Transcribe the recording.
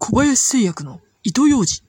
小林製薬の糸ようじ。